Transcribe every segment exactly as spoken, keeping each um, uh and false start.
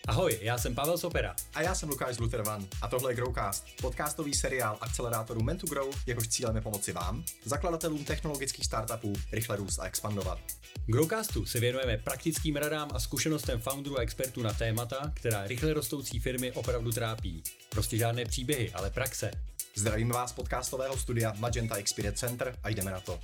Ahoj, já jsem Pavel Sopera. A já jsem Lukáš Zlutervan a tohle je Growcast, podcastový seriál akcelerátoru Men to Grow, jehož cílem je pomoci vám, zakladatelům technologických startupů, rychle růst a expandovat. V Growcastu se věnujeme praktickým radám a zkušenostem founderů a expertů na témata, která rychle rostoucí firmy opravdu trápí. Prostě žádné příběhy, ale praxe. Zdravím vás z podcastového studia Magenta Experience Center a jdeme na to.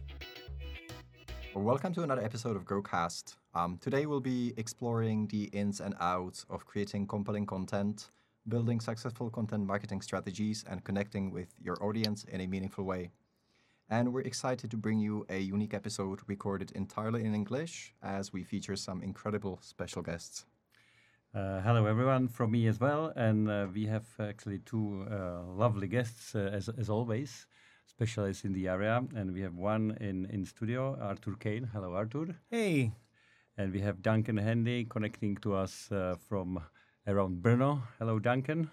Welcome to another episode of Growcast. Um, today we'll be exploring the ins and outs of creating compelling content, building successful content marketing strategies, and connecting with your audience in a meaningful way. And we're excited to bring you a unique episode recorded entirely in English, as we feature some incredible special guests. Uh, hello everyone from me as well, and uh, we have actually two uh, lovely guests uh, as as always, specialists in the area, and we have one in in studio, Arthur Kane. Hello Arthur. Hey. And we have Duncan Handy connecting to us uh, from around Brno. Hello Duncan.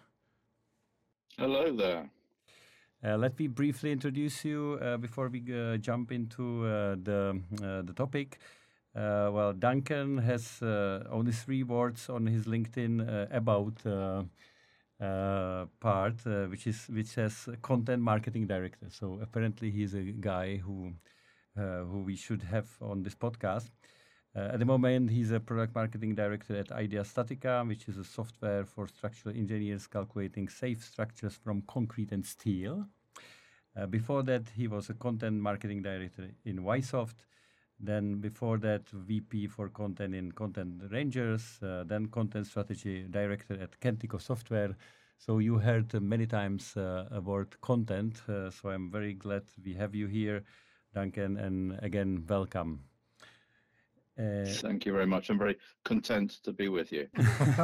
Hello there. Uh, let me briefly introduce you uh, before we uh, jump into uh, the uh, the topic. Uh, well, Duncan has uh, only three words on his LinkedIn uh, about uh, uh, part, uh, which is which says content marketing director. So apparently, he's a guy who uh, who we should have on this podcast. Uh, at the moment, he's a product marketing director at Idea Statica, which is a software for structural engineers calculating safe structures from concrete and steel. Uh, before that, he was a content marketing director in Ysoft. Then before that, V P for content in Content Rangers. Uh, then content strategy director at Kentico Software. So you heard uh, many times uh, about content. Uh, so I'm very glad we have you here, Duncan, and again, welcome. Uh, Thank you very much. I'm very content to be with you.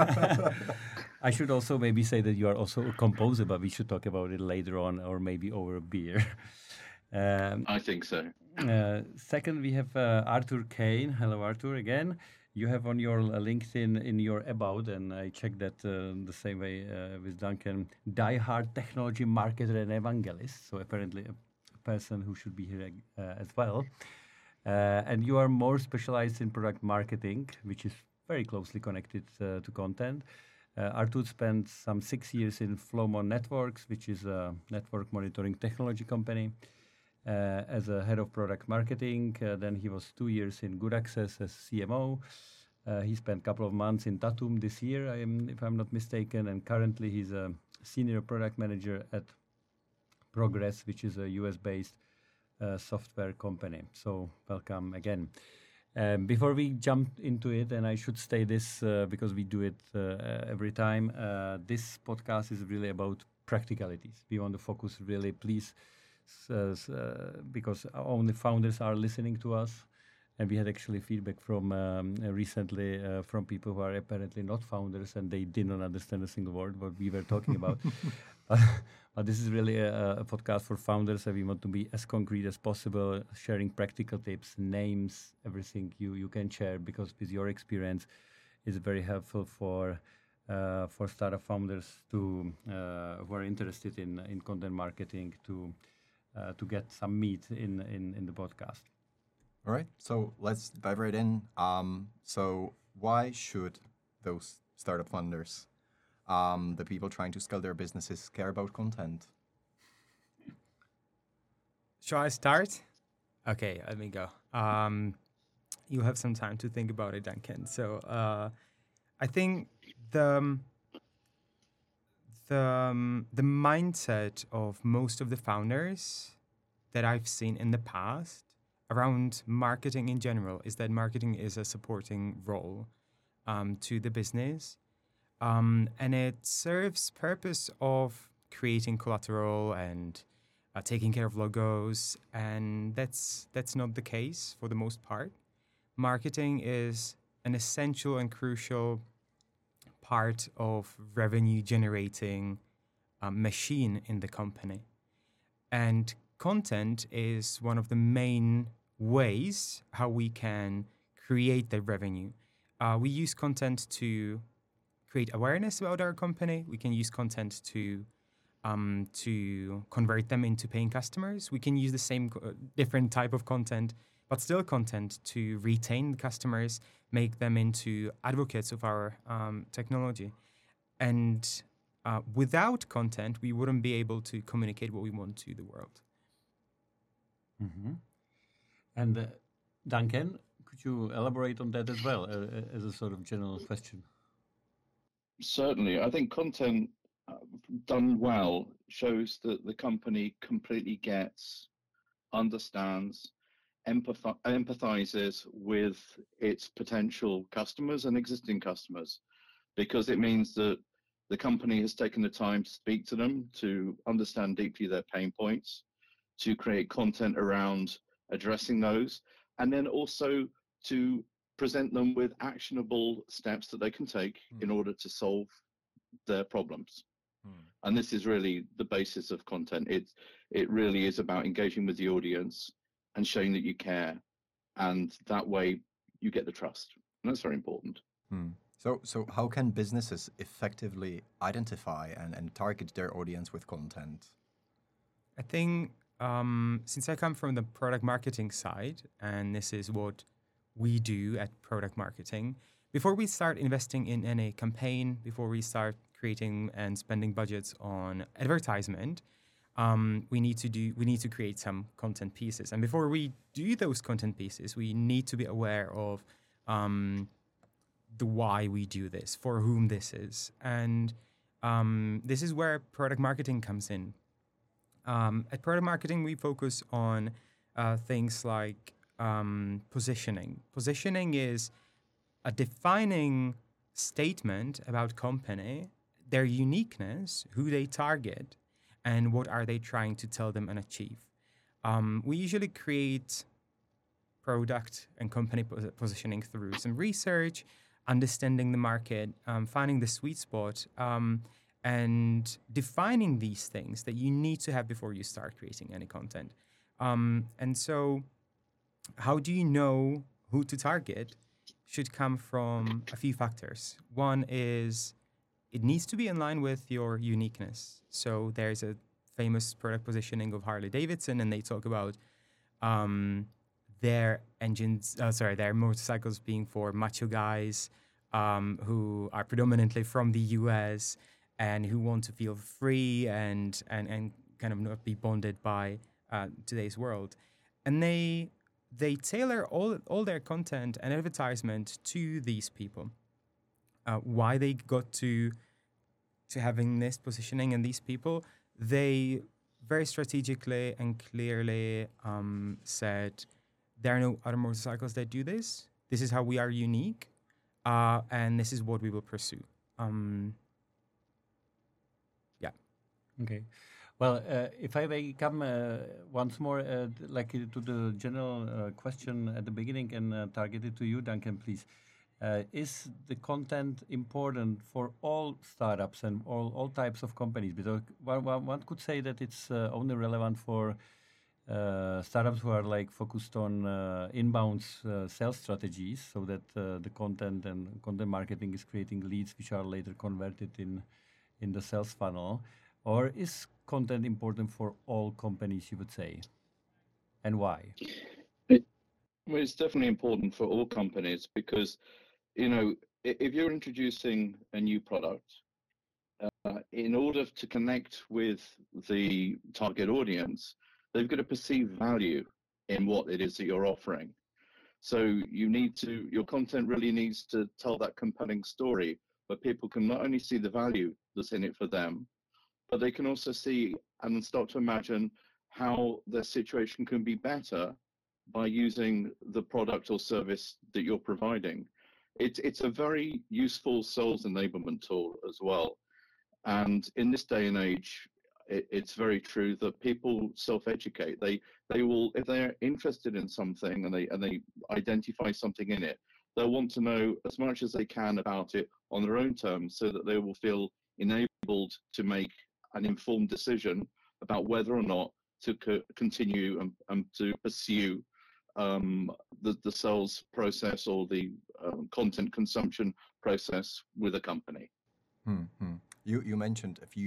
I should also maybe say that you are also a composer, but we should talk about it later on, or maybe over a beer. um, I think so. uh, second, we have uh, Arthur Kane. Hello, Arthur, again. You have on your uh, LinkedIn in your about, and I checked that uh, the same way uh, with Duncan, diehard technology marketer and evangelist. So apparently a person who should be here uh, as well. Uh, and you are more specialized in product marketing, which is very closely connected uh, to content. Uh, Arthur spent some six years in Flowmon Networks, which is a network monitoring technology company, uh, as a head of product marketing. Uh, then he was two years in Good Access as C M O. Uh, he spent a couple of months in Tatum this year, I am, if I'm not mistaken. And currently he's a senior product manager at Progress, which is a U S-based Uh, software company. So welcome again. Um, before we jump into it, and I should say this uh, because we do it uh, every time, uh, this podcast is really about practicalities. We want to focus really, please, uh, uh, because only founders are listening to us. And we had actually feedback from um, recently uh, from people who are apparently not founders, and they did not understand a single word what we were talking about. But this is really a, a podcast for founders, and we want to be as concrete as possible, sharing practical tips, names, everything you, you can share, because with your experience, it's very helpful for uh, for startup founders to uh, who are interested in in content marketing to uh, to get some meat in, in in the podcast. All right, so let's dive right in. Um, so why should those startup funders, um, the people trying to scale their businesses, care about content? Shall I start? Okay, let me go. Um, you have some time to think about it, Duncan. So uh, I think the um, the um, the mindset of most of the founders that I've seen in the past around marketing in general is that marketing is a supporting role um, to the business. Um, and it serves purpose of creating collateral and uh, taking care of logos. And that's that's not the case for the most part. Marketing is an essential and crucial part of revenue generating um, machine in the company. And content is one of the main ways how we can create the revenue. Uh, we use content to create awareness about our company. We can use content to um, to convert them into paying customers. We can use the same uh, different type of content but still content to retain customers, make them into advocates of our um, technology. And uh, without content, we wouldn't be able to communicate what we want to the world. Mm-hmm. And uh, Duncan, could you elaborate on that as well, uh, as a sort of general question? Certainly. I think content uh, done well shows that the company completely gets, understands, empath- empathizes with its potential customers and existing customers, because it means that the company has taken the time to speak to them, to understand deeply their pain points, to create content around addressing those, and then also to present them with actionable steps that they can take mm. in order to solve their problems. Mm. And this is really the basis of content. It, it really is about engaging with the audience and showing that you care, and that way you get the trust. And that's very important. Mm. So, so how can businesses effectively identify and, and target their audience with content? I think um, since I come from the product marketing side, and this is what we do at product marketing, before we start investing in any campaign, before we start creating and spending budgets on advertisement, um, we need to do we need to create some content pieces. And before we do those content pieces, we need to be aware of um, the why we do this, for whom this is. And um, this is where product marketing comes in. Um, at product marketing, we focus on uh, things like um, positioning. Positioning is a defining statement about company, their uniqueness, who they target, and what are they trying to tell them and achieve. Um, we usually create product and company pos- positioning through some research, understanding the market, um, finding the sweet spot, um, and defining these things that you need to have before you start creating any content. Um, and so how do you know who to target should come from a few factors. One is it needs to be in line with your uniqueness. So there's a famous product positioning of Harley Davidson, and they talk about um, their engines, uh, sorry, their motorcycles being for macho guys um, who are predominantly from the U S and who want to feel free and and, and kind of not be bonded by uh, today's world. And they they tailor all all their content and advertisement to these people. Uh, why they got to to having this positioning and these people, they very strategically and clearly um, said, there are no other motorcycles that do this. This is how we are unique, uh, and this is what we will pursue. Um, yeah. Okay. Well, uh, if I may come uh, once more, uh, like uh, to the general uh, question at the beginning and uh, target it to you, Duncan, please. Uh, is the content important for all startups and all, all types of companies? Because one, one, one could say that it's uh, only relevant for uh, startups who are like focused on uh, inbound uh, sales strategies, so that uh, the content and content marketing is creating leads which are later converted in in the sales funnel. Or is content important for all companies, you would say, and why? It, well, it's definitely important for all companies because, you know, if you're introducing a new product, uh, in order to connect with the target audience, they've got to perceive value in what it is that you're offering. So you need to, your content really needs to tell that compelling story where people can not only see the value that's in it for them, but they can also see and start to imagine how their situation can be better by using the product or service that you're providing. It's, it's a very useful sales enablement tool as well. And in this day and age, it, it's very true that people self-educate. They, they will, if they're interested in something and they, and they identify something in it, they'll want to know as much as they can about it on their own terms so that they will feel enabled to make an informed decision about whether or not to co- continue and, and to pursue um, the, the sales process or the um, content consumption process with a company. Mm-hmm. You you mentioned a few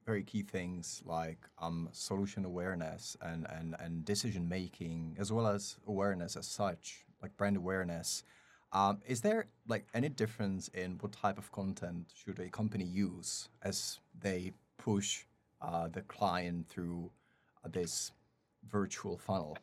very key things like um, solution awareness and, and, and decision making, as well as awareness as such, like brand awareness. Um, is there like any difference in what type of content should a company use as they push uh, the client through uh, this virtual funnel?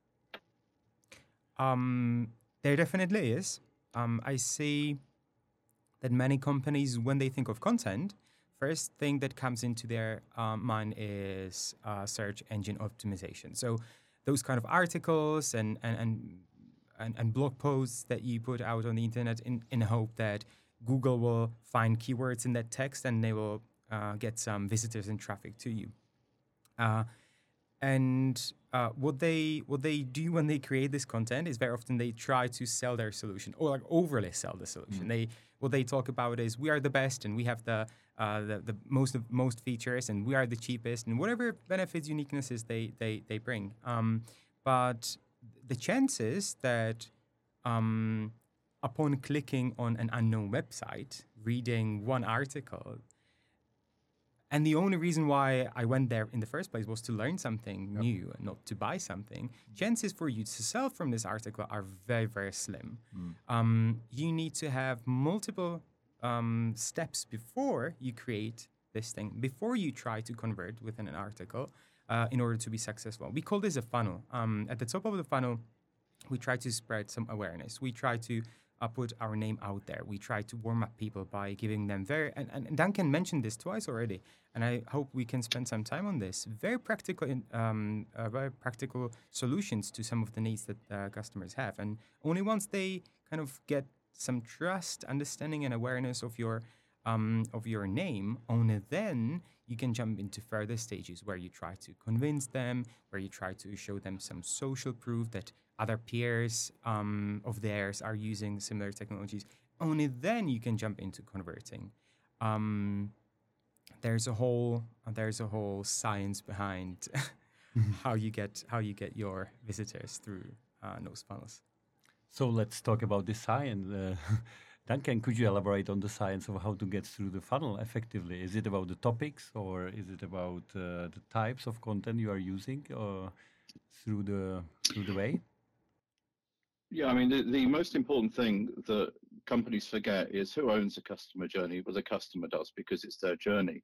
Um, there definitely is. Um, I see that many companies, when they think of content, first thing that comes into their um, mind is uh, search engine optimization. So those kind of articles and and, and and and blog posts that you put out on the internet in, in the hope that Google will find keywords in that text and they will uh, get some visitors and traffic to you. Uh, and uh, what they what they do when they create this content is very often they try to sell their solution or like overly sell the solution. Mm. They what they talk about is we are the best and we have the uh, the, the most of most features and we are the cheapest and whatever benefits, uniquenesses they they they bring. Um, but the chances that um, upon clicking on an unknown website, reading one article, and the only reason why I went there in the first place was to learn something yep. new and not to buy something, chances for you to sell from this article are very, very slim. Mm. Um, you need to have multiple um, steps before you create this thing, before you try to convert within an article uh, in order to be successful. We call this a funnel. Um, at the top of the funnel, we try to spread some awareness. We try to Uh, put our name out there. We try to warm up people by giving them very, and, and Duncan mentioned this twice already, and I hope we can spend some time on this, very practical, um, uh, very practical solutions to some of the needs that uh, customers have. And only once they kind of get some trust, understanding, and awareness of your um, of your name, only then you can jump into further stages where you try to convince them, where you try to show them some social proof that other peers um, of theirs are using similar technologies. Only then you can jump into converting. Um, there's a whole there's a whole science behind how you get how you get your visitors through uh, those funnels. So let's talk about the science. Uh, Duncan, could you elaborate on the science of how to get through the funnel effectively? Is it about the topics, or is it about uh, the types of content you are using, or through the through the way? Yeah, I mean, the, the most important thing that companies forget is who owns the customer journey. Well, the customer does, because it's their journey.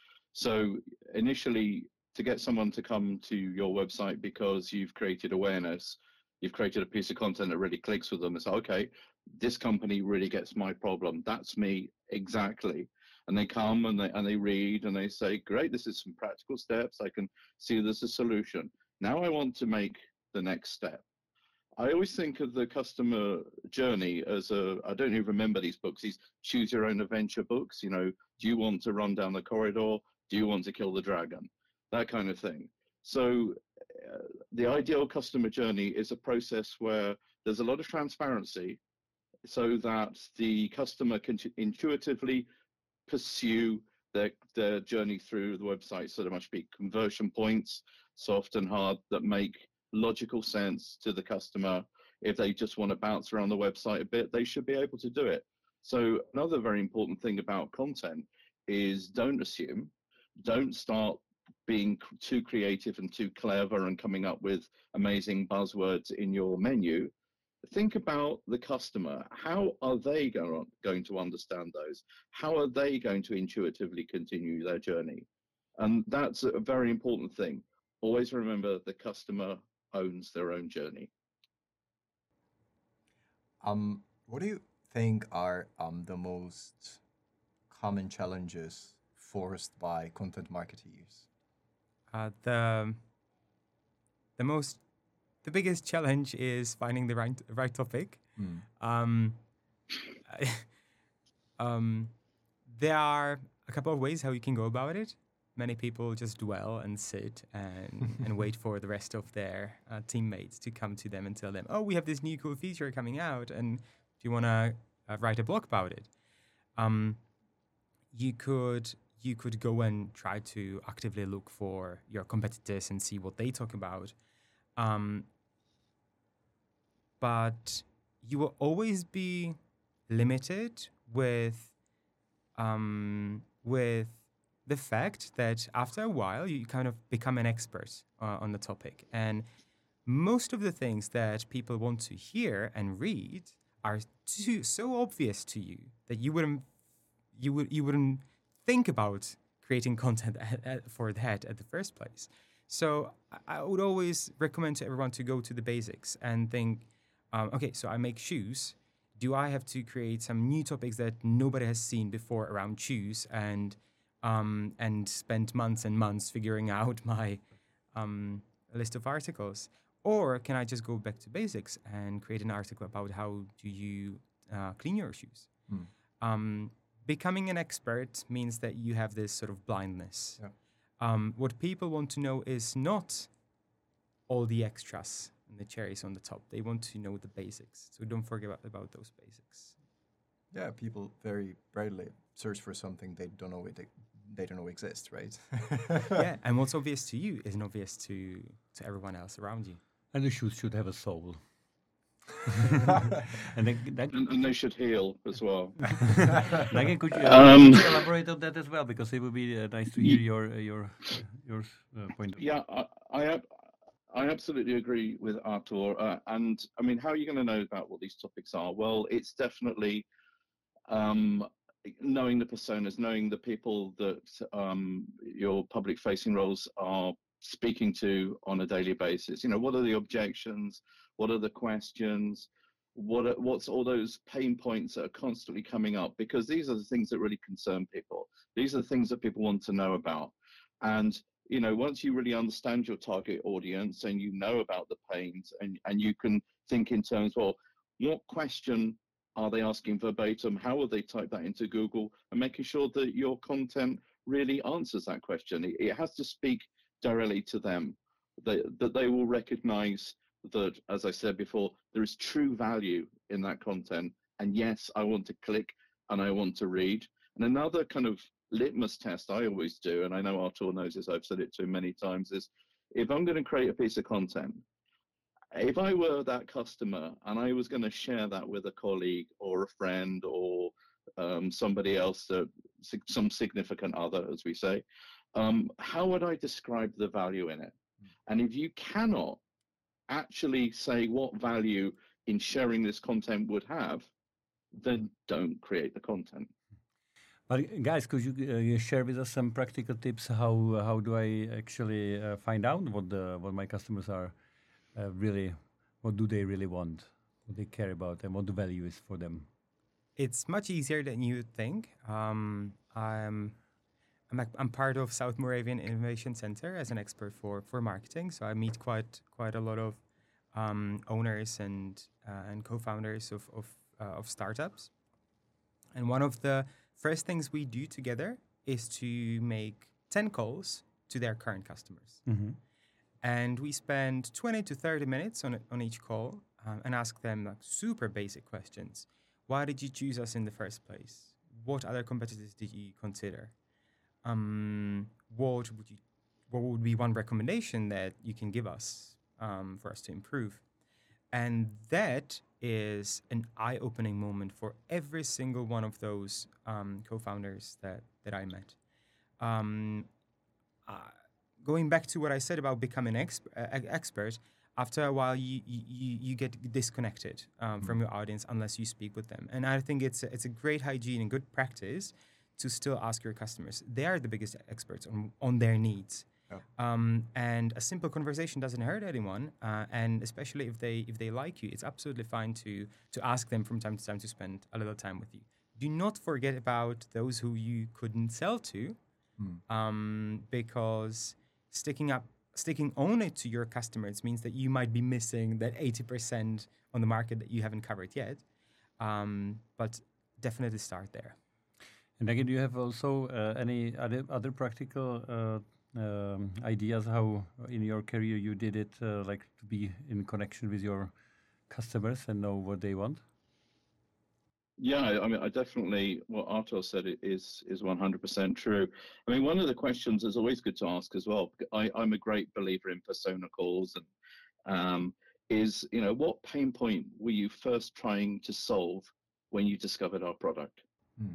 So initially, to get someone to come to your website because you've created awareness, you've created a piece of content that really clicks with them, it's like, okay, this company really gets my problem. That's me exactly. And they come and they, and they read and they say, great, this is some practical steps. I can see there's a solution. Now I want to make the next step. I always think of the customer journey as a, I don't even remember these books, these choose your own adventure books. You know, do you want to run down the corridor? Do you want to kill the dragon? That kind of thing. So uh, the ideal customer journey is a process where there's a lot of transparency so that the customer can intuitively pursue their, their journey through the website. So there must be conversion points, soft and hard, that make logical sense to the customer. If they just want to bounce around the website a bit, they should be able to do it. So another very important thing about content is don't assume, don't start being too creative and too clever and coming up with amazing buzzwords in your menu. Think about the customer. How are they going to understand those? How are they going to intuitively continue their journey? And that's a very important thing. Always remember the customer owns their own journey. Um, what do you think are um, the most common challenges forced by content marketeers? Uh, the the most the biggest challenge is finding the right right topic. Mm. Um, um, there are a couple of ways how you can go about it. Many people just dwell and sit and, and wait for the rest of their uh, teammates to come to them and tell them, oh, we have this new cool feature coming out, and do you want to uh, write a blog about it? Um, you could you could go and try to actively look for your competitors and see what they talk about. Um, but you will always be limited with um, with the fact that after a while you kind of become an expert uh, on the topic, and most of the things that people want to hear and read are too, so obvious to you that you wouldn't you would you wouldn't think about creating content at, at, for that at the first place. So I, I would always recommend to everyone to go to the basics and think, um, okay, so I make shoes. Do I have to create some new topics that nobody has seen before around shoes and um, and spend months and months figuring out my um, list of articles? Or can I just go back to basics and create an article about how do you uh, clean your shoes? Hmm. Um, becoming an expert means that you have this sort of blindness. Yeah. Um, what people want to know is not all the extras and the cherries on the top. They want to know the basics. So don't forget about, about those basics. Yeah, people very rarely search for something they don't know it they don't know exists, right? Yeah, and what's obvious to you isn't obvious to to everyone else around you. And the shoes should have a soul. and then, then And, and they should heal as well. Again, could you, uh, Um, could you elaborate on that as well? Because it would be uh, nice to hear your uh, your uh, your uh, point of view. Yeah, I, I, ab- I absolutely agree with Artur. Uh, and I mean, how are you going to know about what these topics are? Well, it's definitely um, knowing the personas, knowing the people that um, your public-facing roles are speaking to on a daily basis. You know, what are the objections? What are the questions? What are, what's all those pain points that are constantly coming up? Because these are the things that really concern people. These are the things that people want to know about. And, you know, once you really understand your target audience and you know about the pains, and, and you can think in terms, well, what question are they asking verbatim? How will they type that into Google? And making sure that your content really answers that question. It, it has to speak directly to them, that, that they will recognize that, as I said before, there is true value in that content. And yes, I want to click and I want to read. And another kind of litmus test I always do, and I know Artur knows this, I've said it to him many times, is if I'm going to create a piece of content, if I were that customer and I was going to share that with a colleague or a friend or um, somebody else, uh, some significant other, as we say, um, how would I describe the value in it? And if you cannot actually say what value in sharing this content would have, then don't create the content. But guys, could you uh, share with us some practical tips? How how do I actually uh, find out what the what my customers are uh, really, what do they really want, what they care about, and what the value is for them? It's much easier than you would think. Um, I'm I'm, a, I'm part of South Moravian Innovation Center as an expert for, for marketing. So I meet quite quite a lot of um, owners and uh, and co-founders of of, uh, of startups. And one of the first things we do together is to make ten calls to their current customers. Mm-hmm. And we spend twenty to thirty minutes on on each call um, and ask them like super basic questions. Why did you choose us in the first place? What other competitors did you consider? Um, what would you, what would be one recommendation that you can give us um, for us to improve? And that is an eye-opening moment for every single one of those um, co-founders that, that I met. Um, uh, going back to what I said about becoming exp- uh, expert, after a while you you, you get disconnected um, mm-hmm. from your audience unless you speak with them. And I think it's a, it's a great hygiene and good practice to still ask your customers. They are the biggest experts on, on their needs. Oh. Um, and a simple conversation doesn't hurt anyone, uh, and especially if they if they like you, it's absolutely fine to to ask them from time to time to spend a little time with you. Do not forget about those who you couldn't sell to, Hmm. um, because sticking up sticking only to your customers means that you might be missing that eighty percent on the market that you haven't covered yet. Um, but definitely start there. And again, do you have also uh, any other other practical uh, um, ideas how in your career you did it, uh, like to be in connection with your customers and know what they want? Yeah, I mean, I definitely, what Artur said is is one hundred percent true. I mean, one of the questions is always good to ask as well. I, I'm a great believer in persona calls, and um, is, you know, what pain point were you first trying to solve when you discovered our product? Hmm.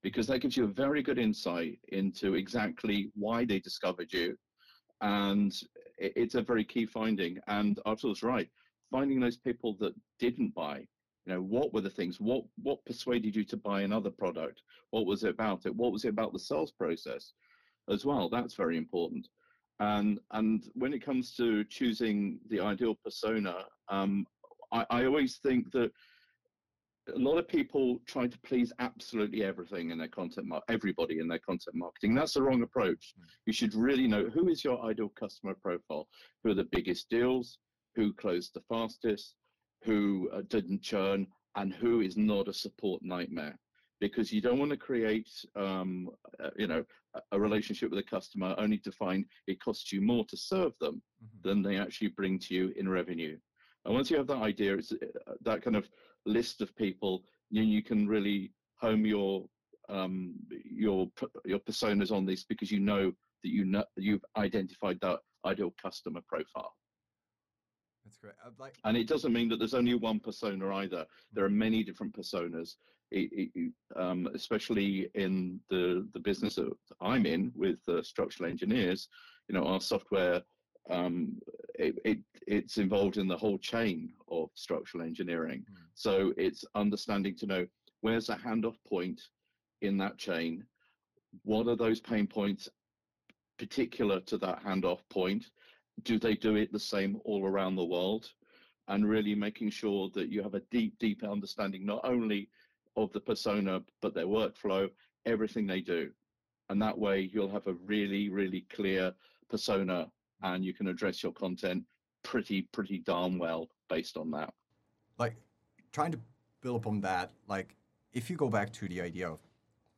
because that gives you a very good insight into exactly why they discovered you. And it's a very key finding. And Artur's right, finding those people that didn't buy, you know, what were the things, what what persuaded you to buy another product? What was it about it? What was it about the sales process as well? That's very important. And and when it comes to choosing the ideal persona, um, I, I always think that a lot of people try to please absolutely everything in their content, mar- everybody in their content marketing. That's the wrong approach. Mm. You should really know who is your ideal customer profile, who are the biggest deals, who closed the fastest, who uh, didn't churn, and who is not a support nightmare. Because you don't want to create, um, uh, you know, a, a relationship with a customer only to find it costs you more to serve them mm-hmm. than they actually bring to you in revenue. And once you have that idea, it's uh, that kind of list of people, you, you can really home your um, your your personas on this, because you know that you know you've identified that ideal customer profile. That's great. I'd like, and it doesn't mean that there's only one persona either. There are many different personas, it, it, um, especially in the the business that I'm in with uh, structural engineers. You know, our software. Um, it, it it's involved in the whole chain of structural engineering. Mm. So it's understanding to know where's the handoff point in that chain, what are those pain points particular to that handoff point, do they do it the same all around the world, and really making sure that you have a deep, deep understanding not only of the persona, but their workflow, everything they do. And that way you'll have a really, really clear persona, and you can address your content pretty, pretty darn well based on that. Like, trying to build upon that, like, if you go back to the idea of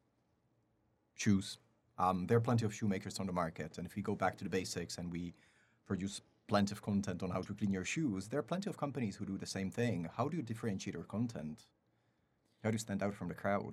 shoes, um, there are plenty of shoemakers on the market. And if we go back to the basics and we produce plenty of content on how to clean your shoes, there are plenty of companies who do the same thing. How do you differentiate your content? How do you stand out from the crowd?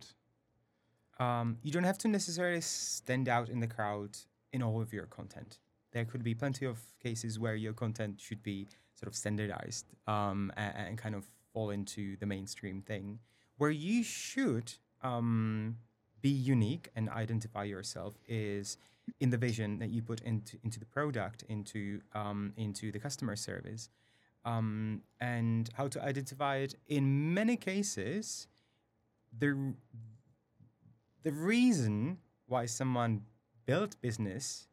Um, you don't have to necessarily stand out in the crowd in all of your content. There could be plenty of cases where your content should be sort of standardized um, and, and kind of fall into the mainstream thing. Where you should um, be unique and identify yourself is in the vision that you put into into the product, into um, into the customer service, um, and how to identify it. In many cases, the the reason why someone built business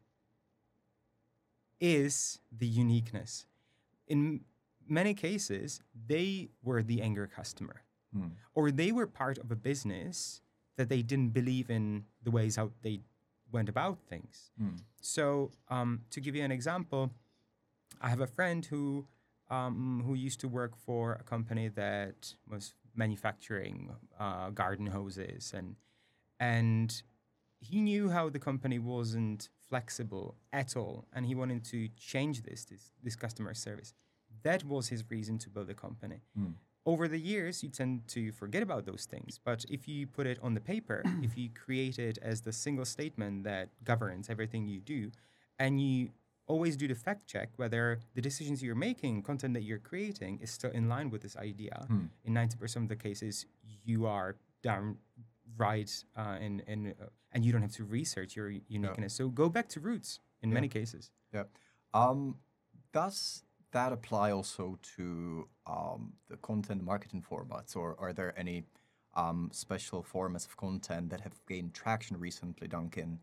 is the uniqueness. In many cases, they were the anchor customer, mm. or they were part of a business that they didn't believe in the ways how they went about things. Mm. So um, to give you an example, I have a friend who um, who used to work for a company that was manufacturing uh, garden hoses, and and he knew how the company wasn't flexible at all, and he wanted to change this, this, this customer service. That was his reason to build a company. Mm. Over the years, you tend to forget about those things, but if you put it on the paper, if you create it as the single statement that governs everything you do, and you always do the fact check whether the decisions you're making, content that you're creating, is still in line with this idea, mm. in ninety percent of the cases, you are down right, uh, and and uh, and you don't have to research your uniqueness. Yeah. So go back to roots in yeah. many cases. Yeah. Um, does that apply also to um, the content marketing formats, or are there any um, special formats of content that have gained traction recently, Duncan?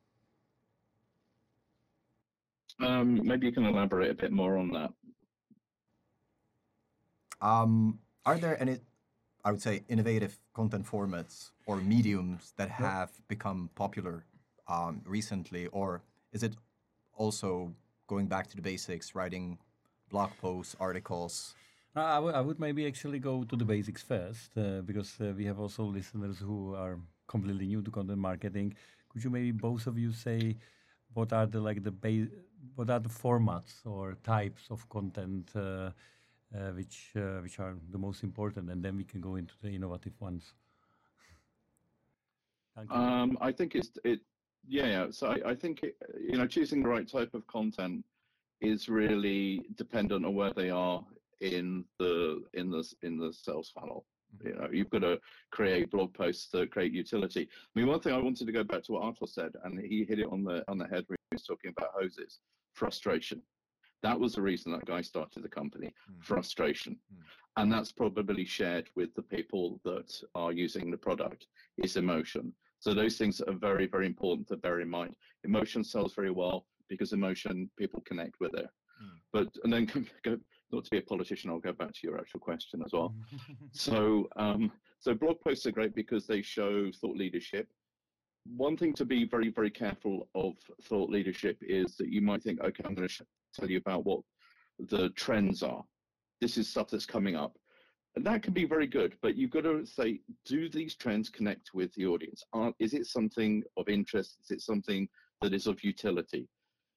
Um, maybe you can elaborate a bit more on that. Um, are there any, I would say, innovative content formats or mediums that have yep. become popular um, recently, or is it also going back to the basics, writing blog posts, articles? Uh, I, w- I would maybe actually go to the basics first, uh, because uh, we have also listeners who are completely new to content marketing. Could you maybe both of you say what are the like the ba- what are the formats or types of content uh, uh, which uh, which are the most important, and then we can go into the innovative ones. Um, I think it's it. Yeah, yeah. So I, I think it, you know, choosing the right type of content is really dependent on where they are in the in the in the sales funnel. You know, you've got to create blog posts that create utility. I mean, one thing I wanted to go back to what Artur said, and he hit it on the on the head when he was talking about hoses. Frustration. That was the reason that guy started the company. Mm. Frustration. Mm. And that's probably shared with the people that are using the product, is emotion. So those things are very, very important to bear in mind. Emotion sells very well because emotion, people connect with it. Mm. But, and then go, not to be a politician, I'll go back to your actual question as well. so, um, so blog posts are great because they show thought leadership. One thing to be very, very careful of thought leadership is that you might think, okay, I'm going to tell you about what the trends are. This is stuff that's coming up. And that can be very good, but you've got to say, do these trends connect with the audience? Are, is it something of interest? Is it something that is of utility?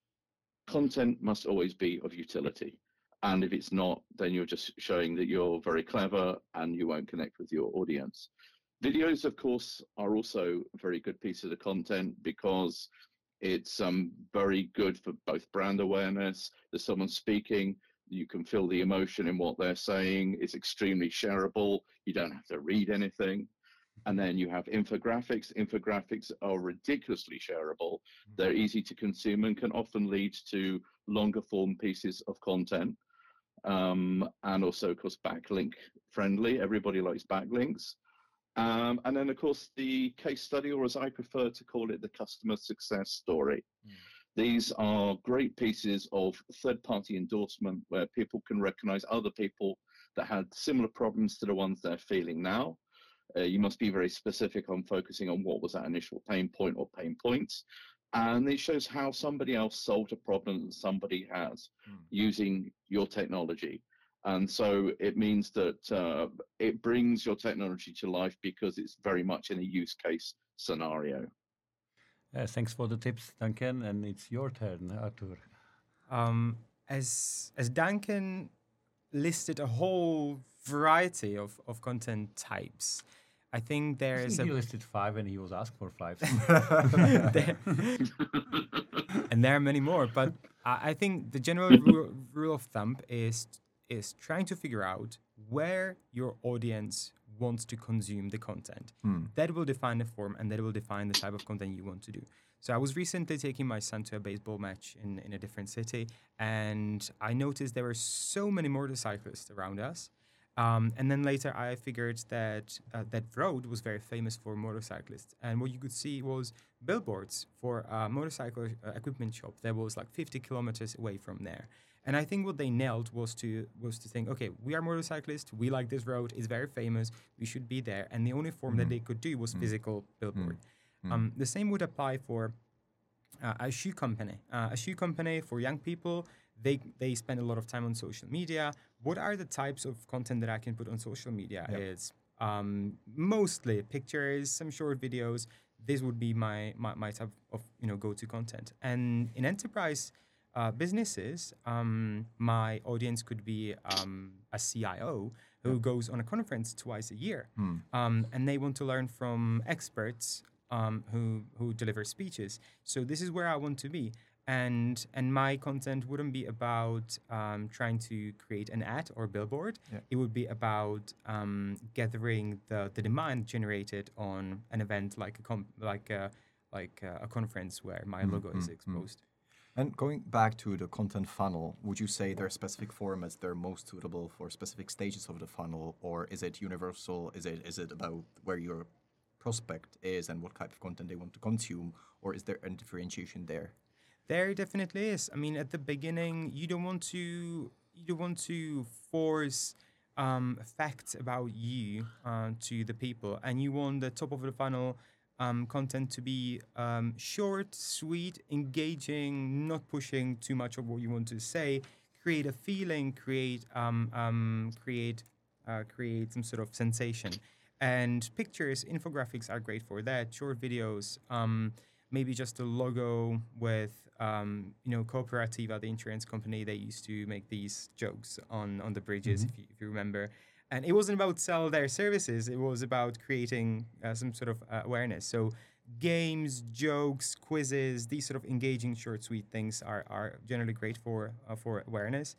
Content must always be of utility. And if it's not, then you're just showing that you're very clever and you won't connect with your audience. Videos, of course, are also a very good piece of the content because it's um, very good for both brand awareness. There's someone speaking, you can feel the emotion in what they're saying. It's extremely shareable. You don't have to read anything. And then you have infographics. Infographics are ridiculously shareable. They're easy to consume and can often lead to longer form pieces of content. Um, and also, of course, backlink friendly. Everybody likes backlinks. Um, and then, of course, the case study, or as I prefer to call it, the customer success story. Mm. These are great pieces of third-party endorsement where people can recognize other people that had similar problems to the ones they're feeling now. Uh, you must be very specific on focusing on what was that initial pain point or pain points. And it shows how somebody else solved a problem that somebody has mm. using your technology. And so it means that uh, it brings your technology to life because it's very much in a use case scenario. Uh, thanks for the tips, Duncan, and it's your turn, Artur. Um, as as Duncan listed a whole variety of, of content types, I think there is he a... He listed five and he was asked for five. there, and there are many more, but I, I think the general rule, rule of thumb is is trying to figure out where your audience wants to consume the content. Hmm. That will define the form and that will define the type of content you want to do. So I was recently taking my son to a baseball match in, in a different city, and I noticed there were so many motorcyclists around us. Um, and then later I figured that uh, that road was very famous for motorcyclists. And what you could see was billboards for a motorcycle uh, equipment shop that was like fifty kilometers away from there. And I think what they nailed was to was to think, okay, we are motorcyclists, we like this road, it's very famous, we should be there. And the only form mm. that they could do was mm. physical billboard. Mm. Um, the same would apply for uh, a shoe company. Uh, a shoe company for young people, they they spend a lot of time on social media. What are the types of content that I can put on social media? Yep. It's um, mostly pictures, some short videos. This would be my, my, my type of you know go-to content. And in enterprise Uh, businesses, um, my audience could be um, a C I O who yeah. goes on a conference twice a year, mm. um, and they want to learn from experts um, who who deliver speeches. So this is where I want to be, and and my content wouldn't be about um, trying to create an ad or billboard. Yeah. It would be about um, gathering the, the demand generated on an event like a com- like a, like a, a conference where my mm, logo mm, is exposed. Mm. And going back to the content funnel, would you say there are specific formats that are most suitable for specific stages of the funnel, or is it universal? Is it is it about where your prospect is and what type of content they want to consume, or is there a differentiation there? There definitely is. I mean, at the beginning, you don't want to you don't want to force um, facts about you uh, to the people, and you want the top of the funnel Um, content to be um, short, sweet, engaging, not pushing too much of what you want to say. Create a feeling, create um, um, create uh, create some sort of sensation. And pictures, infographics are great for that. Short videos, um, maybe just a logo with um, you know Cooperativa, the insurance company. They used to make these jokes on on the bridges, mm-hmm. if you if you remember. And it wasn't about sell their services. It was about creating uh, some sort of uh, awareness. So games, jokes, quizzes, these sort of engaging, short, sweet things are, are generally great for uh, for awareness.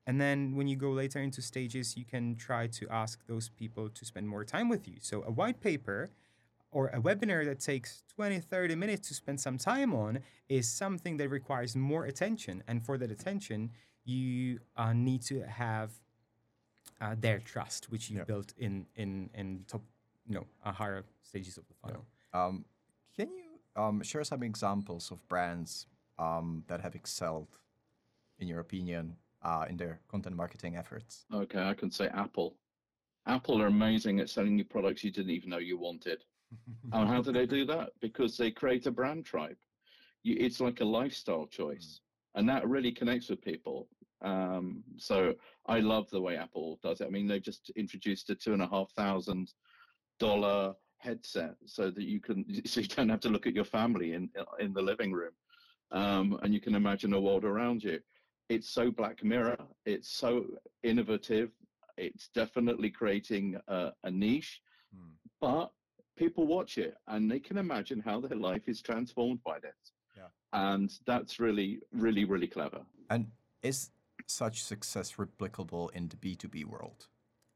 and then when you go later into stages, you can try to ask those people to spend more time with you. So a white paper or a webinar that takes twenty, thirty minutes to spend some time on is something that requires more attention. And for that attention, you uh, need to have uh, their trust, which you Yep. built in in in top, you know, uh, higher stages of the funnel. Um, can you um, share some examples of brands um, that have excelled, in your opinion, uh, in their content marketing efforts? Okay, I can say Apple. Apple are amazing at selling you products you didn't even know you wanted. And how do they do that? Because they create a brand tribe. You, it's like a lifestyle choice, and that really connects with people. Um, so I love the way Apple does it. I mean, they've just introduced a two and a half thousand dollar headset so that you can, so you don't have to look at your family in in the living room, um, and you can imagine a world around you. It's so Black Mirror. It's so innovative. It's definitely creating a, a niche, Hmm. but people watch it and they can imagine how their life is transformed by this. Yeah. And that's really, really, really clever. And is such success replicable in the B two B world?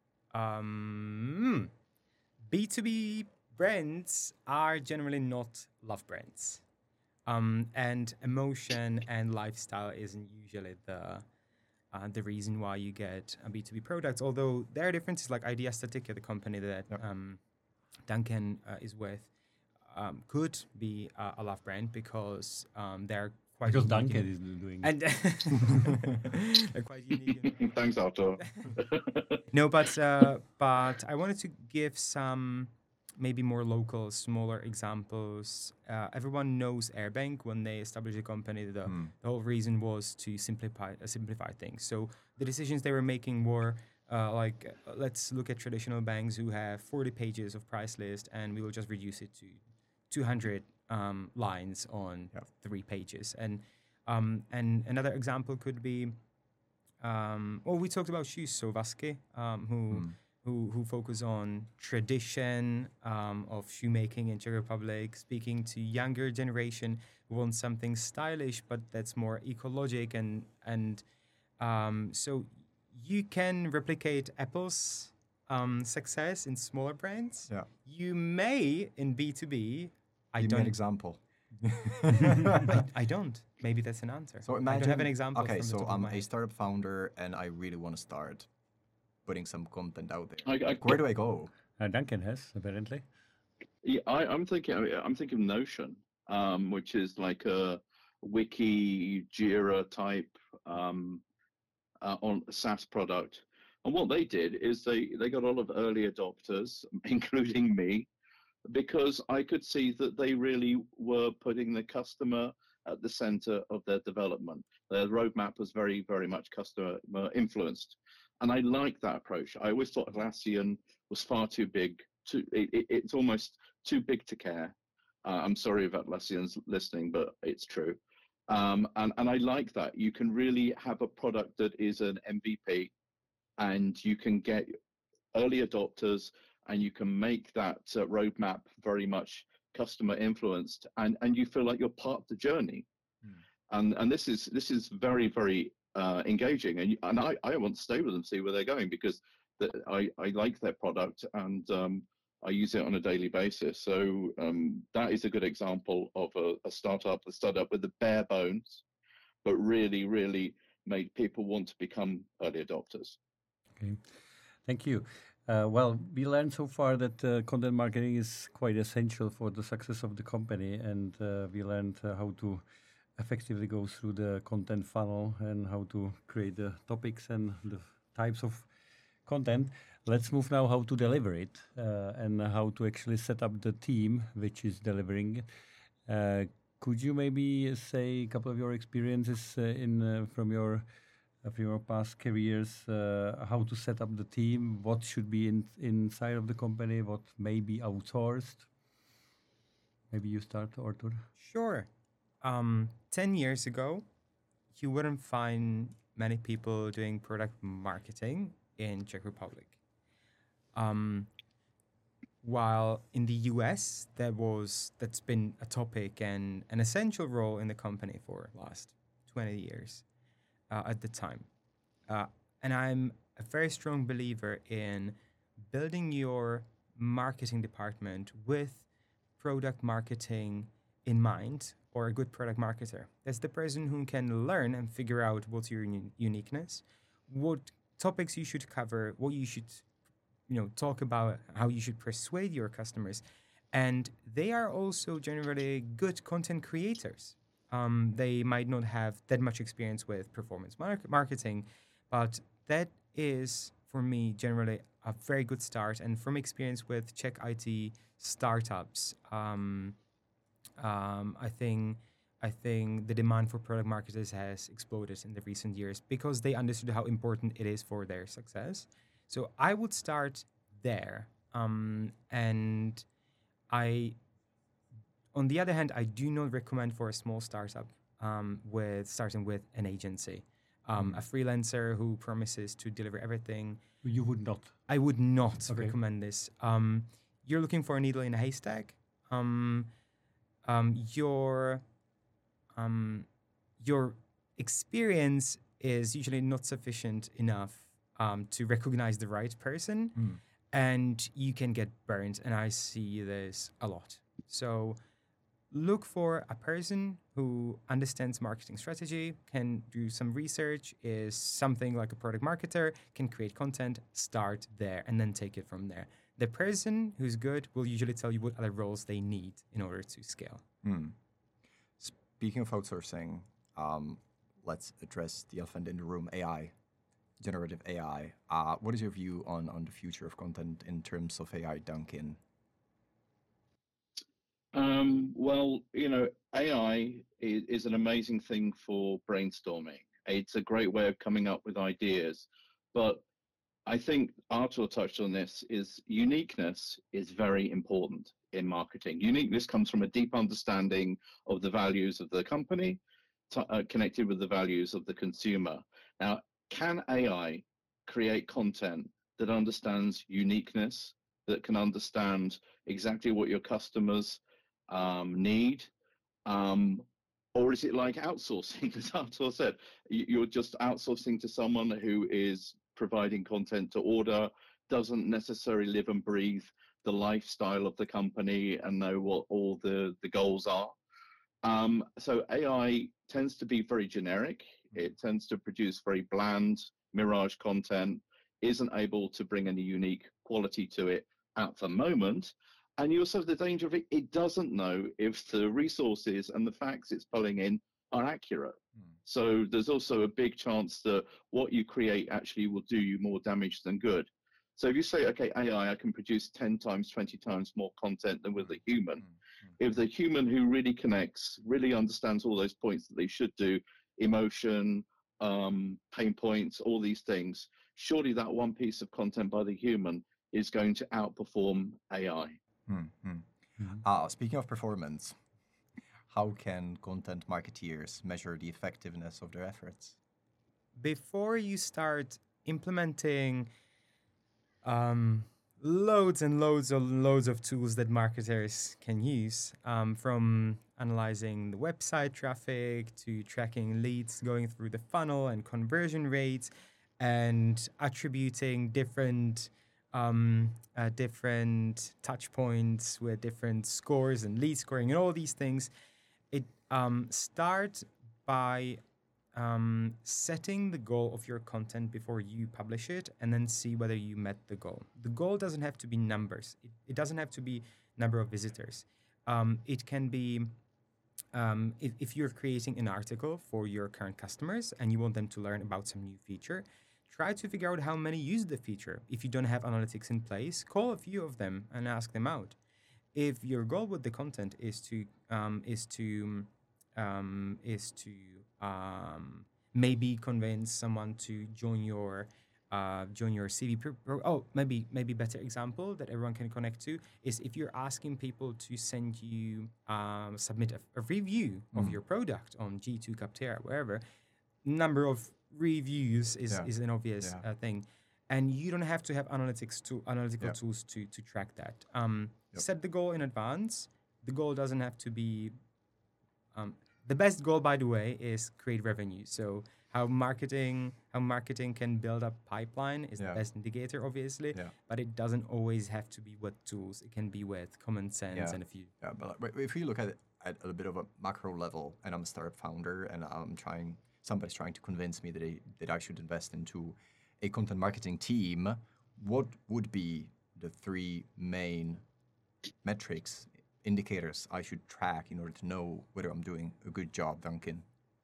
Um, B two B brands are generally not love brands. Um, and emotion and lifestyle isn't usually the uh, the reason why you get a B two B product. Although there are differences, like Idea Statica, the company that Yep. um, Duncan uh, is with, um, could be uh, a love brand because um, they're quite Because unique Duncan in- is doing and they're quite unique. in- Thanks, Arthur. No, but uh, but I wanted to give some maybe more local, smaller examples. Uh, everyone knows Airbank. When they established the company, the, Hmm. the whole reason was to simplify uh, simplify things. So the decisions they were making were uh, like, uh, let's look at traditional banks who have forty pages of price list, and we will just reduce it to two hundred um, lines on Yep. three pages. And um, and another example could be, um, well, we talked about shoes. So Vasque, um, who Hmm. who who focus on tradition um, of shoemaking in Czech Republic, speaking to younger generation who want something stylish but that's more ecologic, and and um, so you can replicate Apple's um, success in smaller brands. Yeah. You may in B two B. I Give me an don't. example. I, I don't. Maybe that's an answer. So I imagine. don't have an example. Okay, from the so top of I'm my a head. startup founder and I really want to start putting some content out there. I, I, Where do I go? Uh, Duncan has, apparently. yeah, I, I'm thinking. I'm thinking Notion, um, which is like a wiki Jira type um, uh, on a SaaS product. And what they did is they they got a lot of early adopters, including me, because I could see that they really were putting the customer at the center of their development. Their roadmap was very, very much customer influenced. And I like that approach. I always thought Atlassian was far too big. Too, it, it, it's almost too big to care. Uh, I'm sorry if Atlassian's listening, but it's true. Um, and, and I like that. You can really have a product that is an M V P, and you can get early adopters, and you can make that uh, roadmap very much customer influenced, and, and you feel like you're part of the journey. Hmm. And and this is this is very, very uh, engaging, and and I, I want to stay with them, see where they're going, because the, I, I like their product, and um, I use it on a daily basis. So um, that is a good example of a, a startup, a startup with the bare bones, but really, really made people want to become early adopters. Okay, thank you. Uh, well, we learned so far that uh, content marketing is quite essential for the success of the company, and uh, we learned uh, how to effectively go through the content funnel and how to create the topics and the types of content. Let's move now how to deliver it uh, and how to actually set up the team which is delivering it. Uh, could you maybe say a couple of your experiences uh, in uh, from your uh, from your past careers, uh, how to set up the team, what should be in, inside of the company, what may be outsourced? Maybe you start, Artur. Sure. Um, ten years ago, you wouldn't find many people doing product marketing in Czech Republic. Um, while in the U S, that was that's been a topic and an essential role in the company for last twenty years uh, at the time. Uh, and I'm a very strong believer in building your marketing department with product marketing in mind, or a good product marketer. That's the person who can learn and figure out what's your un- uniqueness, what topics you should cover, what you should, you know, talk about, how you should persuade your customers. And they are also generally good content creators. Um, they might not have that much experience with performance mar- marketing, but that is, for me, generally a very good start. And from experience with Czech I T startups, um, um, I think I think the demand for product marketers has exploded in the recent years because they understood how important it is for their success. So I would start there, um, and I, on the other hand, I do not recommend for a small startup um, with starting with an agency, um, a freelancer who promises to deliver everything. You would not. I would not Okay. recommend this. Um, you're looking for a needle in a haystack. Um, um, your um, your experience is usually not sufficient enough um, to recognize the right person, and you can get burned. And I see this a lot. So look for a person who understands marketing strategy, can do some research, is something like a product marketer, can create content, start there, and then take it from there. The person who's good will usually tell you what other roles they need in order to scale. Hmm. Speaking of outsourcing, um, let's address the elephant in the room, A I, generative A I. Uh, what is your view on, on the future of content in terms of A I, Duncan? Um, well, you know, A I is, is an amazing thing for brainstorming. It's a great way of coming up with ideas. But I think Artur touched on this, is uniqueness is very important in marketing. Uniqueness comes from a deep understanding of the values of the company, t- uh, connected with the values of the consumer. Now, can A I create content that understands uniqueness, that can understand exactly what your customers um, need? Um, or is it like outsourcing, as Artur said? You're just outsourcing to someone who is providing content to order, doesn't necessarily live and breathe the lifestyle of the company and know what all the, the goals are. Um, so A I tends to be very generic. It tends to produce very bland mirage content, isn't able to bring any unique quality to it at the moment. And you also have the danger of it, it doesn't know if the resources and the facts it's pulling in are accurate. Mm. So there's also a big chance that what you create actually will do you more damage than good. So if you say, okay, A I, I can produce ten times, twenty times more content than with a human. Mm-hmm. If the human who really connects, really understands all those points that they should do, emotion, um, pain points, all these things, surely that one piece of content by the human is going to outperform A I. Mm-hmm. Mm-hmm. Uh, speaking of performance, how can content marketeers measure the effectiveness of their efforts? Before you start implementing um, loads and loads of loads of tools that marketers can use, um, from analyzing the website traffic to tracking leads going through the funnel and conversion rates, and attributing different um, uh, different touch points with different scores and lead scoring and all these things. It um, start by um, setting the goal of your content before you publish it, and then see whether you met the goal. The goal doesn't have to be numbers. It, it doesn't have to be number of visitors. Um, it can be um, if, if you're creating an article for your current customers and you want them to learn about some new feature, try to figure out how many use the feature. If you don't have analytics in place, call a few of them and ask them out. If your goal with the content is to um, is to um, is to um, maybe convince someone to join your uh, join your C V. Pro- pro- oh, maybe maybe better example that everyone can connect to is if you're asking people to send you um, submit a, a review mm. of your product on G two, Capterra, wherever. Number of reviews is yeah. is an obvious yeah. uh, thing. And you don't have to have analytics to analytical yep. tools to to track that. Um, yep. Set the goal in advance. The goal doesn't have to be. Um, the best goal, by the way, is create revenue. So how marketing how marketing can build up pipeline is Yeah. the best indicator, obviously. Yeah. But it doesn't always have to be with tools. It can be with common sense Yeah. and a few. Yeah, but like, if you look at it at a bit of a macro level, and I'm a startup founder, and I'm trying, somebody's trying to convince me that I, that I should invest into a content marketing team, what would be the three main metrics, indicators I should track in order to know whether I'm doing a good job, Duncan?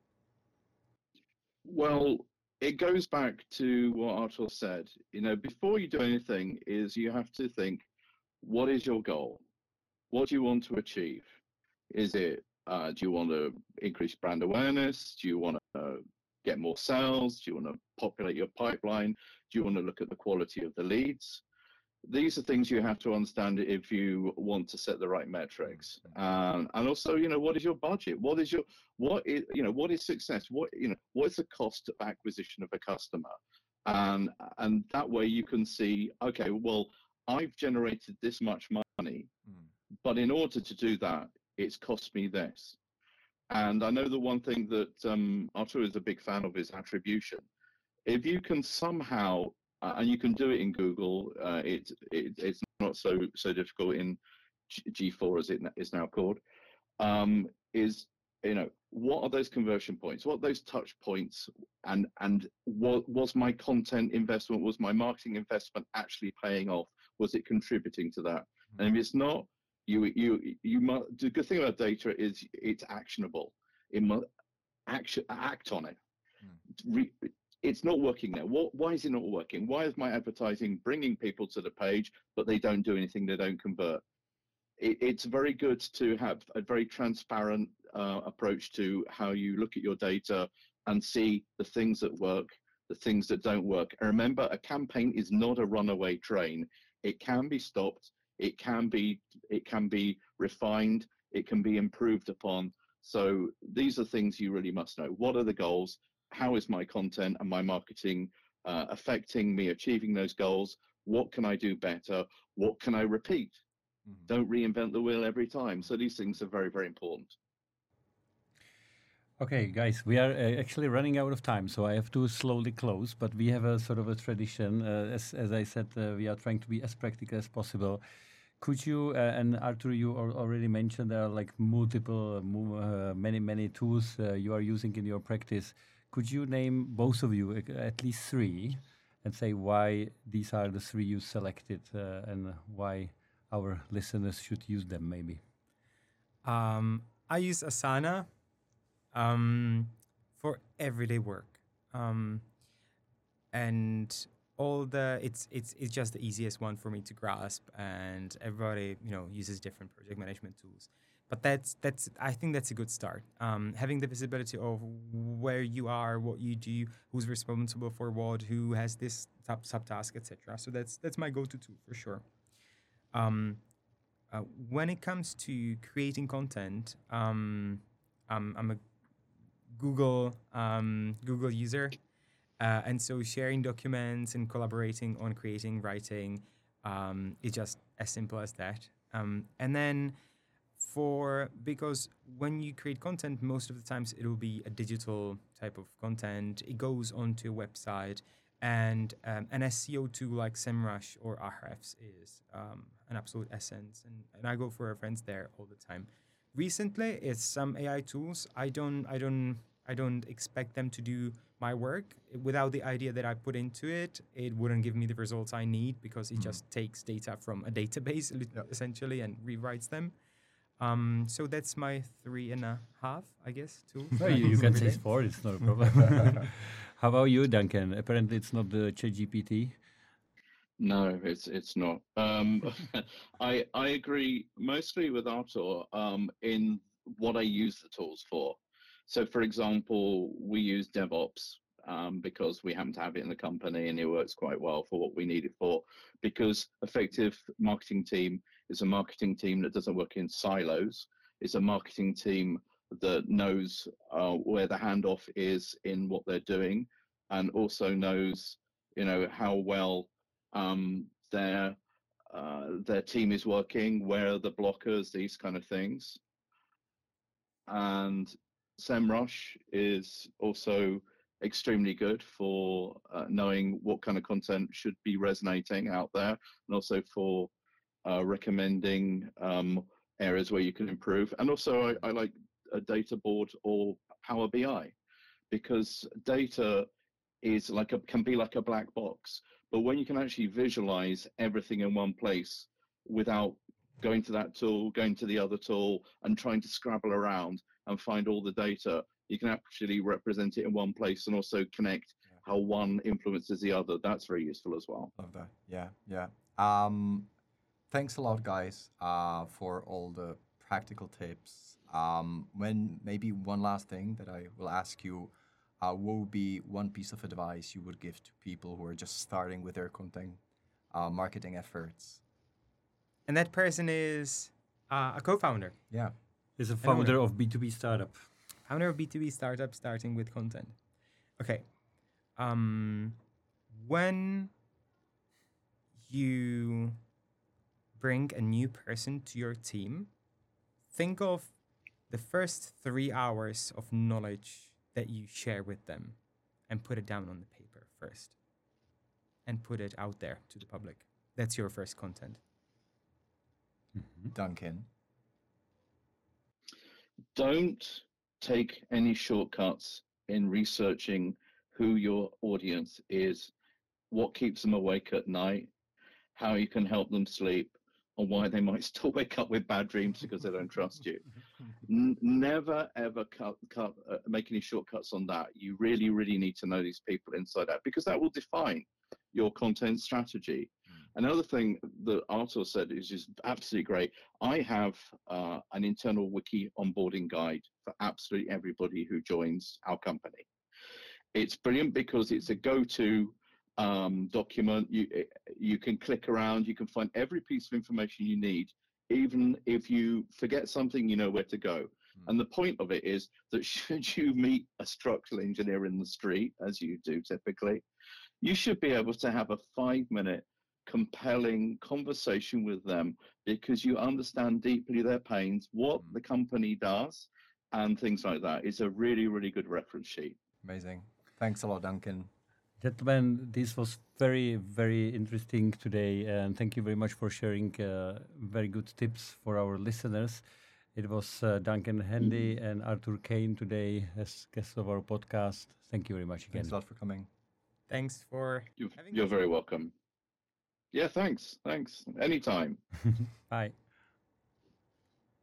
Well, it goes back to what Artur said. You know, before you do anything, is you have to think, what is your goal? What do you want to achieve? Is it, uh, do you want to increase brand awareness? Do you want to uh, get more sales? Do you want to populate your pipeline? Do you want to look at the quality of the leads? These are things you have to understand if you want to set the right metrics. Um, and also, you know, what is your budget? What is your, what is, you know, what is success? What, you know, what is the cost of acquisition of a customer? Um, and that way you can see, okay, well, I've generated this much money, Mm. but in order to do that, it's cost me this. And I know the one thing that um, Artur is a big fan of is attribution. If you can somehow, uh, and you can do it in Google, uh, it, it, it's not so so difficult in G four as it is now called, um, is, you know, what are those conversion points? What are those touch points? And, and what was my content investment, was my marketing investment actually paying off? Was it contributing to that? Mm-hmm. And if it's not, you, you, you must, the good thing about data is it's actionable. It must action, act on it. Mm. Re, it's not working now. What, why is it not working? Why is my advertising bringing people to the page, but they don't do anything, they don't convert? It, it's very good to have a very transparent uh, approach to how you look at your data and see the things that work, the things that don't work. And remember, a campaign is not a runaway train. It can be stopped. It can be, it can be refined. It can be improved upon. So these are things you really must know. What are the goals? How is my content and my marketing uh, affecting me achieving those goals? What can I do better? What can I repeat? Mm-hmm. Don't reinvent the wheel every time. So these things are very, very important. Okay, guys, we are uh, actually running out of time, so I have to slowly close. But we have a sort of a tradition. Uh, as, as I said, uh, we are trying to be as practical as possible. Could you, uh, and Artur, you already mentioned there are like multiple, uh, many, many tools uh, you are using in your practice. Could you name, both of you, at least three, and say why these are the three you selected uh, and why our listeners should use them, maybe? Um, I use Asana um, for everyday work. Um, and all the, it's, it's, it's just the easiest one for me to grasp, and everybody, you know, uses different project management tools. But that's, that's, I think that's a good start. Um, having the visibility of where you are, what you do, who's responsible for what, who has this sub subtask, et cetera. So that's, that's my go-to tool for sure. Um, uh, when it comes to creating content, um, um, I'm a Google um, Google user, uh, and so sharing documents and collaborating on creating, writing, um, is just as simple as that. Um, and then for, because when you create content, most of the times it will be a digital type of content. It goes onto a website, and um, an S E O tool like SEMrush or Ahrefs is um, an absolute essence. And, and I go for reference there all the time. Recently, it's some A I tools. I don't, I don't, I don't expect them to do my work. Without the idea that I put into it, it wouldn't give me the results I need, because it mm-hmm. just takes data from a database yep. essentially and rewrites them. Um, so that's my three and a half, I guess, tools. No, you, you can say four. It's not a problem. How about you, Duncan? Apparently, it's not the ChatGPT. No, it's it's not. Um, I I agree mostly with Artur um, in what I use the tools for. So, for example, we use DevOps um, because we happen to have it in the company, and it works quite well for what we need it for. Because effective marketing team is a marketing team that doesn't work in silos. It's a marketing team that knows uh, where the handoff is in what they're doing, and also knows, you know, how well um, their uh, their team is working, where are the blockers, these kind of things. And SEMrush is also extremely good for uh, knowing what kind of content should be resonating out there, and also for uh, recommending um, areas where you can improve. And also I, I like a data board or Power B I, because data is like a, can be like a black box, but when you can actually visualize everything in one place without going to that tool, going to the other tool, and trying to scrabble around and find all the data, you can actually represent it in one place and also connect yeah. how one influences the other. That's very useful as well. Love that. Yeah, yeah. Um, thanks a lot, guys, uh, for all the practical tips. Um, when maybe one last thing that I will ask you, uh, what would be one piece of advice you would give to people who are just starting with their content uh, marketing efforts? And that person is uh, a co-founder. Yeah. Is a founder of B two B startup. Founder of B two B startup starting with content. Okay. Um, when you bring a new person to your team, think of the first three hours of knowledge that you share with them and put it down on the paper first and put it out there to the public. That's your first content. Mm-hmm. Duncan. Don't take any shortcuts in researching who your audience is, what keeps them awake at night, how you can help them sleep, or why they might still wake up with bad dreams because they don't trust you. N- never, ever cut, cut, uh, make any shortcuts on that. You really, really need to know these people inside out, because that will define your content strategy. Another thing that Artur said is just absolutely great. I have uh, an internal wiki onboarding guide for absolutely everybody who joins our company. It's brilliant because it's a go-to um, document. You, you can click around, you can find every piece of information you need. Even if you forget something, you know where to go. Mm. And the point of it is that should you meet a structural engineer in the street, as you do typically, you should be able to have a five-minute compelling conversation with them, because you understand deeply their pains, what the company does, and things like that. It's a really, really good reference sheet. Amazing. Thanks a lot, Duncan. Gentlemen, this was very, very interesting today, and thank you very much for sharing uh, very good tips for our listeners. It was uh, Duncan Handy and Artur Kane today as guests of our podcast. Thank you very much again. Thanks a lot for coming. Thanks for You've, having You're us. very welcome. Yeah, thanks. Thanks. Anytime. Bye.